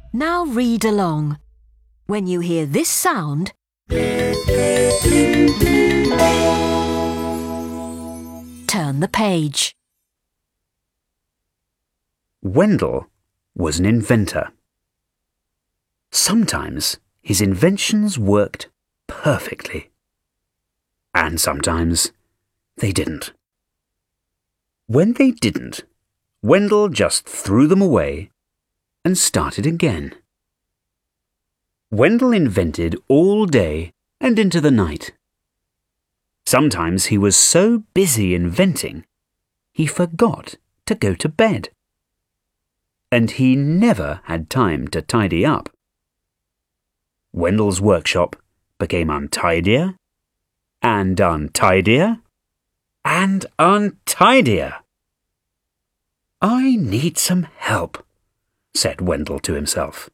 Now read along. When you hear this sound, turn the page. Wendell was an inventor. Sometimes his inventions worked perfectly, and sometimes they didn't. When they didn't, Wendell just threw them away and started again. Wendell invented all day and into the night. Sometimes he was so busy inventing, he forgot to go to bed. And he never had time to tidy up. Wendell's workshop became untidier and untidier and untidier. "I need some help," said Wendell to himself.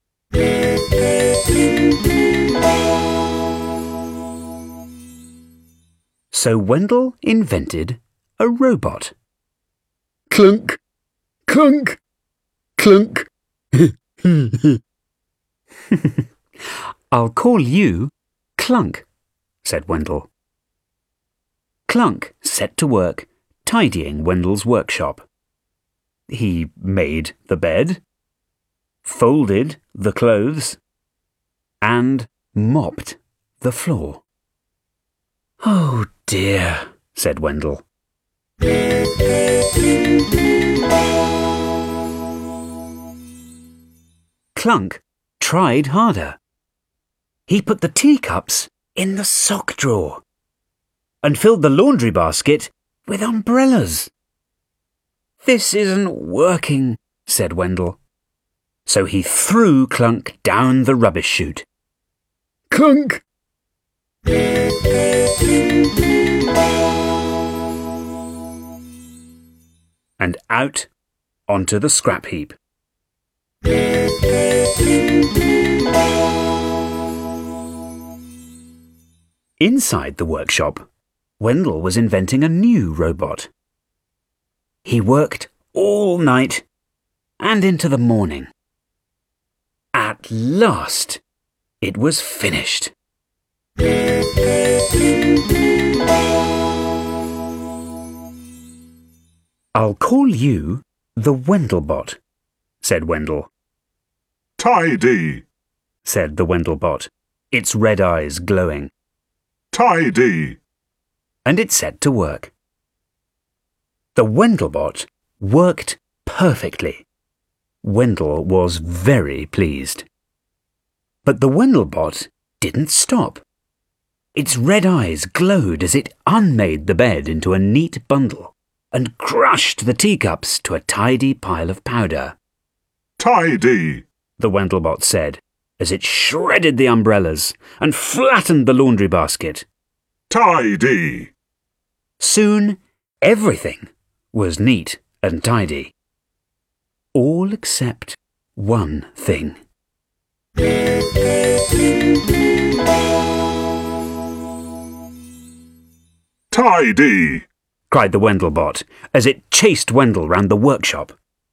So Wendell invented a robot. Clunk, clunk, clunk. "I'll call you Clunk," said Wendell. Clunk set to work tidying Wendell's workshop. He made the bed, folded the clothes, and mopped the floor. "Oh dear," said Wendell. Clunk tried harder. He put the teacups in the sock drawer and filled the laundry basket with umbrellas. "This isn't working," said Wendell. So he threw Clunk down the rubbish chute. Clunk! And out onto the scrap heap. Inside the workshop, Wendell was inventing a new robot. He worked all night and into the morning. At last, it was finished. "I'll call you the Wendellbot," said Wendell. "Tidy," said the Wendellbot, its red eyes glowing. "Tidy." And it set to work. The Wendellbot worked perfectly. Wendell was very pleased. But the Wendellbot didn't stop. Its red eyes glowed as it unmade the bed into a neat bundle and crushed the teacups to a tidy pile of powder. "Tidy," the Wendellbot said, as it shredded the umbrellas and flattened the laundry basket. "Tidy." Soon, everything was neat and tidy. All except one thing. "Tidy," cried the Wendellbot as it chased Wendell round the workshop.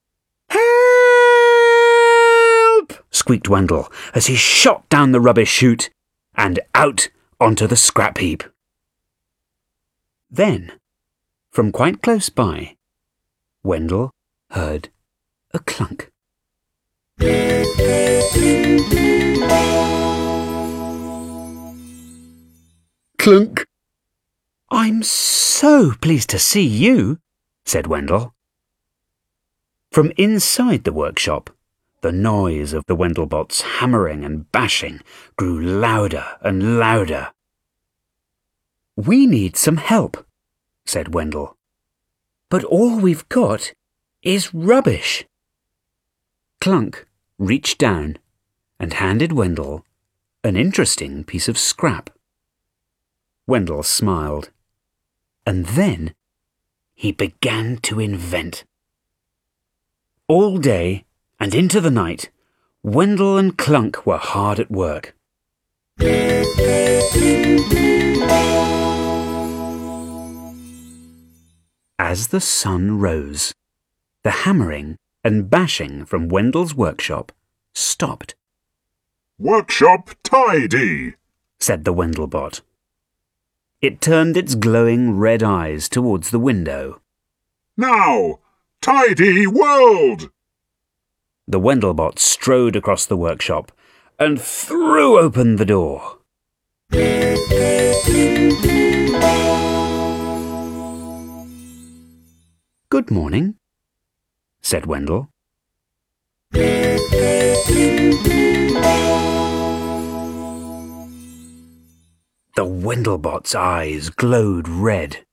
"Help!" squeaked Wendell as he shot down the rubbish chute and out onto the scrap heap. Then, from quite close by, Wendell heard a clunk. Clunk! "I'm so pleased to see you," said Wendell. From inside the workshop, the noise of the Wendellbot's hammering and bashing grew louder and louder. "We need some help," said Wendell. "But all we've got is rubbish." Clunk reached down and handed Wendell an interesting piece of scrap. Wendell smiled, and then he began to invent. All day and into the night, Wendell and Clunk were hard at work. As the sun rose, the hammering and bashing from Wendell's workshop stopped. Workshop tidy, said the Wendelbot. It turned its glowing red eyes towards the window. Now, tidy world! The Wendelbot strode across the workshop and threw open the door. Good morning, said Wendell. The Wendelbot's eyes glowed red.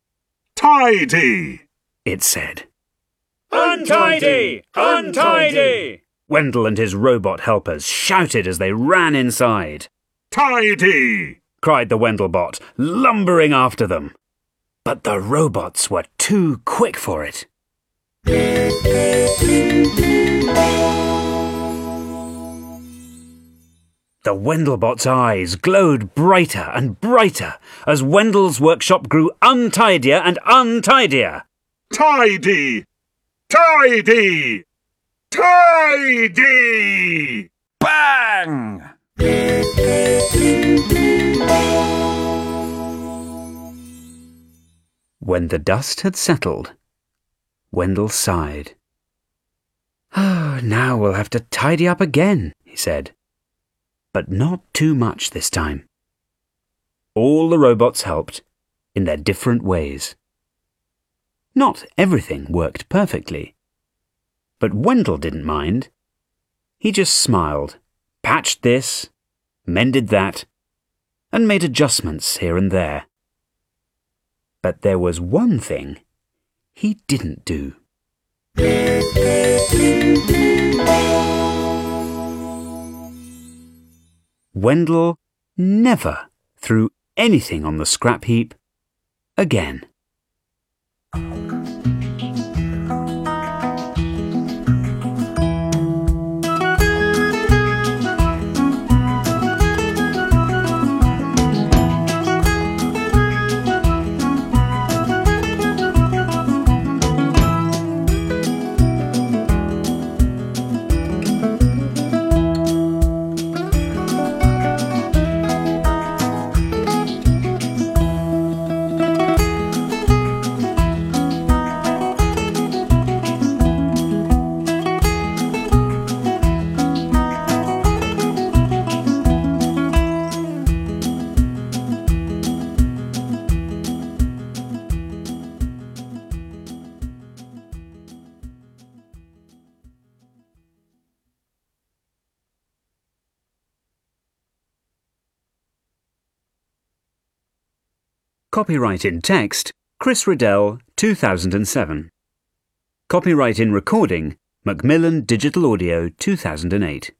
Tidy, it said. Untidy! Untidy! Wendell and his robot helpers shouted as they ran inside. tidy, Cried the Wendelbot, lumbering after them. But the robots were too quick for it. The Wendelbot's eyes glowed brighter and brighter as Wendell's workshop grew untidier and untidier. tidy, tidy, tidy! Bang! When the dust had settled, Wendell sighed. "Oh, now we'll have to tidy up again," he said. But not too much this time. All the robots helped, in their different ways. Not everything worked perfectly. But Wendell didn't mind. He just smiled, patched this, mended that, and made adjustments here and there. But there was one thing he didn't do. Wendell never threw anything on the scrap heap again. Copyright in text, Chris Riddell, 2007. Copyright in recording, Macmillan Digital Audio, 2008.